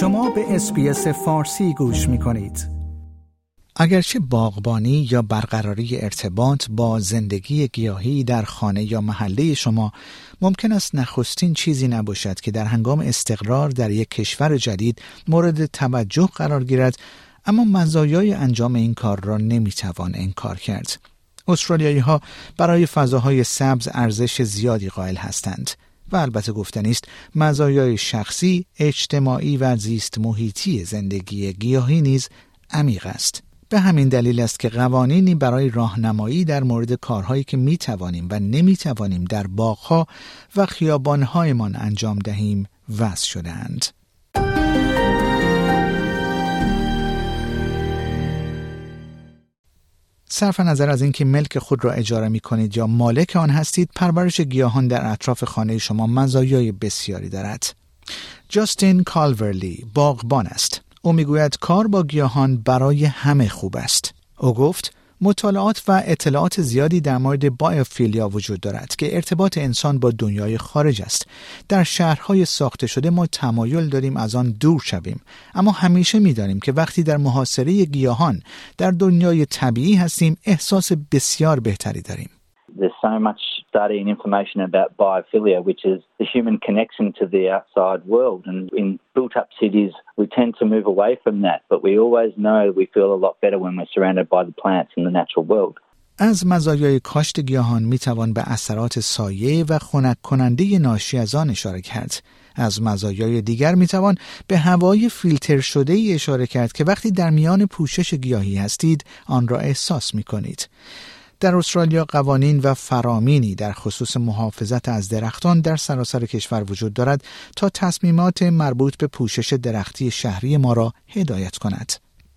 شما به اس‌بی‌اس فارسی گوش می‌کنید. اگرچه باغبانی یا برقراری ارتباط با زندگی گیاهی در خانه یا محله شما ممکن است نخستین چیزی نباشد که در هنگام استقرار در یک کشور جدید مورد توجه قرار گیرد، اما مزایای انجام این کار را نمیتوان انکار کرد. استرالیایی‌ها برای فضاهای سبز ارزش زیادی قائل هستند و البته گفتنی است مزایای شخصی، اجتماعی و زیست محیطی زندگی گیاهی نیز عمیق است. به همین دلیل است که قوانینی برای راهنمایی در مورد کارهایی که میتوانیم و نمیتوانیم در باغ‌ها و خیابان‌هایمان انجام دهیم وضع شده‌اند. صرف نظر از اینکه ملک خود را اجاره می‌کنید یا مالک آن هستید، پرورش گیاهان در اطراف خانه شما مزایای بسیاری دارد. جاستین کالورلی باغبان است. او میگوید کار با گیاهان برای همه خوب است. او گفت مطالعات و اطلاعات زیادی در مورد بایوفیلیا وجود دارد که ارتباط انسان با دنیای خارج است. در شهرهای ساخته شده ما تمایل داریم از آن دور شویم، اما همیشه می‌دانیم که وقتی در محاصره گیاهان در دنیای طبیعی هستیم احساس بسیار بهتری داریم. There's so much study and information about biophilia, which is the human connection to the outside world. And in built-up cities, we tend to move away from that. But we always know we feel a lot better when we're surrounded by the plants in the natural world. از مزایای کاشت گیاهان میتوان به اثرات سایه و خنک کننده ناشی از آن اشاره کرد. از مزایای دیگر میتوان به هوای فیلتر شده ای اشاره کرد که وقتی در میان پوشش گیاهی هستید آن را احساس میکنید. در استرالیا قوانین و فرامینی در خصوص محافظت از درختان در سراسر کشور وجود دارد تا تصمیمات مربوط به پوشش درختی شهری ما را هدایت کند.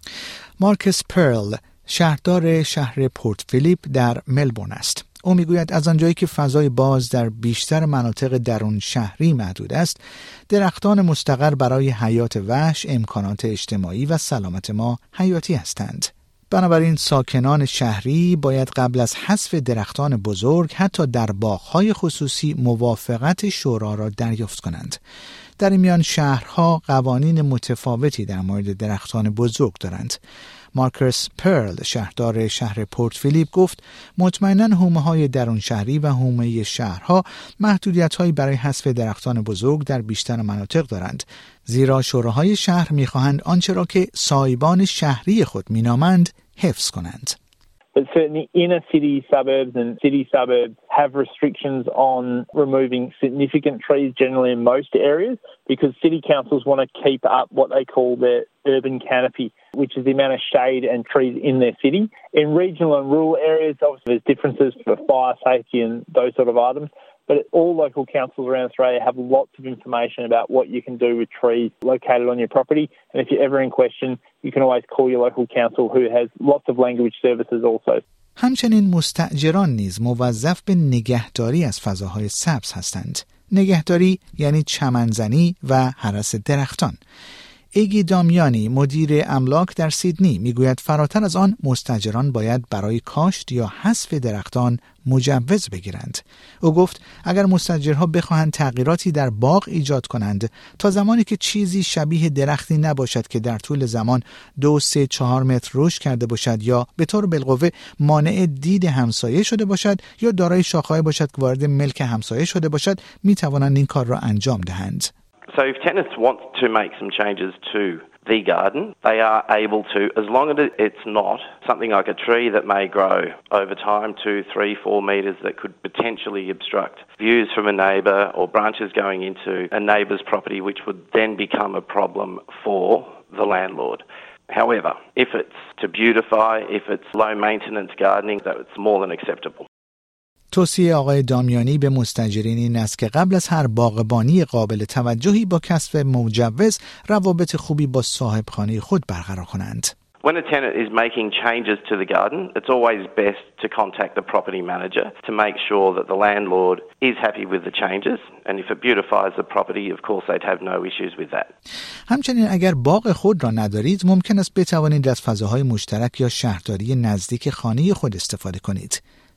مارکس پرل شهردار شهر پورت فیلیپ در ملبورن است. او میگوید از آنجایی که فضای باز در بیشتر مناطق درون شهری محدود است، درختان مستقر برای حیات وحش، امکانات اجتماعی و سلامت ما حیاتی هستند. بنابراین ساکنان شهری باید قبل از حذف درختان بزرگ حتی در باغ‌های خصوصی موافقت شورا را دریافت کنند. در این میان شهرها قوانین متفاوتی در مورد درختان بزرگ دارند. مارکس پرل شهردار شهر پورت فیلیپ گفت مطمئناً حومه‌های درون شهری و حومه شهرها محدودیت‌هایی برای حذف درختان بزرگ در بیشتر مناطق دارند، زیرا شوراهای شهر می‌خواهند آنچه را که سایبان شهری خود می‌نامند حفظ کنند. But certainly inner city suburbs and city suburbs have restrictions on removing significant trees generally in most areas because city councils want to keep up what they call their urban canopy, which is the amount of shade and trees in their city. In regional and rural areas, obviously there's differences for fire safety and those sort of items. But all local councils around Australia have lots of information about what you can do with trees located on your property. And if you're ever in question, you can always call your local council who has lots of language services also. همچنین مستاجران نیز موظف به نگهداری از فضاهای سبز هستند. نگهداری یعنی چمنزنی و هرس درختان. ایگی دامیانی مدیر املاک در سیدنی میگوید فراتر از آن مستاجران باید برای کاشت یا حذف درختان مجوز بگیرند. او گفت اگر مستاجرها بخواهند تغییراتی در باغ ایجاد کنند تا زمانی که چیزی شبیه درختی نباشد که در طول زمان 2, 3, 4 متر رشد کرده باشد یا به طور بالقوه مانع دید همسایه شده باشد یا دارای شاخه‌ای باشد که وارد ملک همسایه شده باشد میتوانند این کار را انجام دهند. So if tenants want to make some changes to the garden, they are able to, as long as it's not something like a tree that may grow over time 2, 3, 4 metres that could potentially obstruct views from a neighbour or branches going into a neighbour's property which would then become a problem for the landlord. However, if it's to beautify, if it's low maintenance gardening, that's more than acceptable. توصیه آقای دامیانی به مستاجرین این است که قبل از هر باغبانی قابل توجهی با کسب مجوز روابط خوبی با صاحب خانه خود برقرار کنند. When a tenant is making changes to the garden, it's always best to contact the property manager to make sure that the landlord is happy with the changes, and if it beautifies the property, of course they'd have no issues with that. همچنین اگر باغ خود را ندارید ممکن است بتوانید از فضاهای مشترک یا شهرداری نزدیک خانه خود استفاده کنید.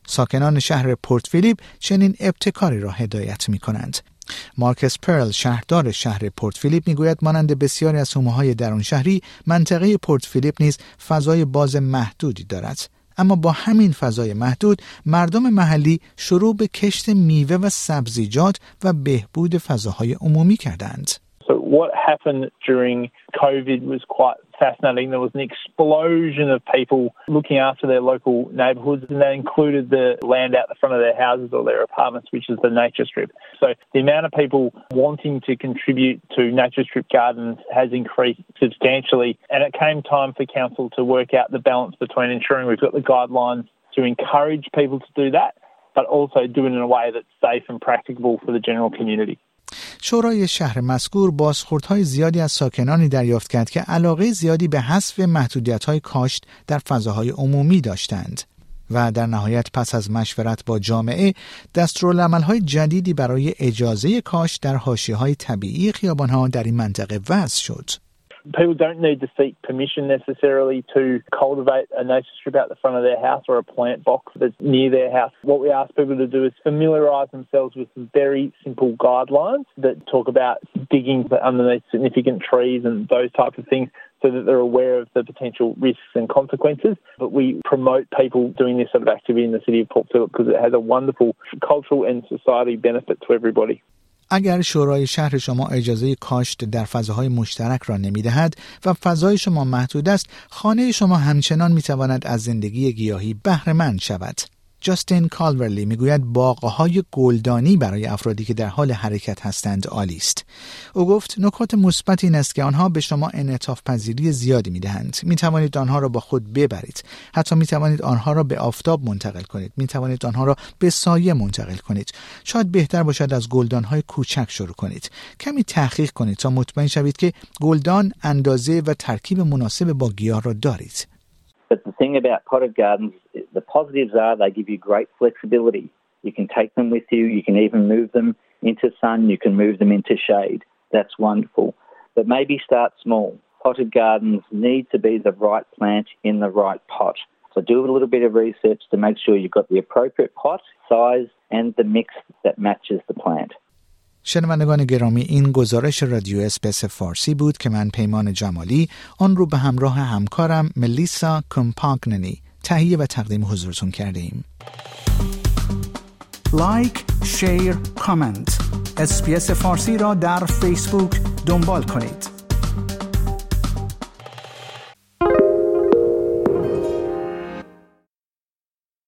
ساکنان شهر پورت فیلیپ چنین ابتکاری را هدایت می‌کنند. مارکس پرل شهردار شهر پورت فیلیپ میگوید مانند بسیاری از حومه‌های درون شهری منطقه پورت فیلیپ نیز فضای باز محدودی دارد، اما با همین فضای محدود مردم محلی شروع به کشت میوه و سبزیجات و بهبود فضاهای عمومی کردند. So what happened during COVID was quite fascinating. There was an explosion of people looking after their local neighbourhoods, and that included the land out the front of their houses or their apartments, which is the nature strip. So the amount of people wanting to contribute to nature strip gardens has increased substantially, and it came time for council to work out the balance between ensuring we've got the guidelines to encourage people to do that, but also do it in a way that's safe and practicable for the general community. شورای شهر مذکور بازخوردهای زیادی از ساکنانی دریافت کرد که علاقه زیادی به حذف محدودیت‌های کاشت در فضاهای عمومی داشتند و در نهایت پس از مشورت با جامعه دستورالعمل‌های جدیدی برای اجازه کاشت در حاشیه‌های طبیعی خیابان‌ها در این منطقه وضع شد. People don't need to seek permission necessarily to cultivate a nature strip out the front of their house or a plant box that's near their house. What we ask people to do is familiarise themselves with some very simple guidelines that talk about digging underneath significant trees and those types of things so that they're aware of the potential risks and consequences. But we promote people doing this sort of activity in the city of Port Phillip because it has a wonderful cultural and society benefit to everybody. اگر شورای شهر شما اجازه کاشت در فضاهای مشترک را نمی‌دهد و فضای شما محدود است، خانه شما همچنان می‌تواند از زندگی گیاهی بهره مند شود. جاستین کالورلی میگوید باغ‌های گلدانی برای افرادی که در حال حرکت هستند عالی است. او گفت نکات مثبت این است که آنها به شما انعطاف پذیری زیادی می‌دهند. می‌توانید آنها را با خود ببرید. حتی می‌توانید آنها را به آفتاب منتقل کنید. می‌توانید آنها را به سایه منتقل کنید. شاید بهتر باشد از گلدان‌های کوچک شروع کنید. کمی تحقیق کنید تا مطمئن شوید که گلدان اندازه و ترکیب مناسب با گیاه را دارید. But the thing about potted gardens, the positives are they give you great flexibility. You can take them with you. You can even move them into sun. You can move them into shade. That's wonderful. But maybe start small. Potted gardens need to be the right plant in the right pot. So do a little bit of research to make sure you've got the appropriate pot, size, and the mix that matches the plant. شنوندگان گرامی، این گزارش رادیو اسپیس فارسی بود که من پیمان جمالی آن رو به همراه همکارم ملیسا کمپاگننی تهیه و تقدیم حضورتون کرده ایم. لایک، شیر، کامنت. اسپیس فارسی را در فیسبوک دنبال کنید.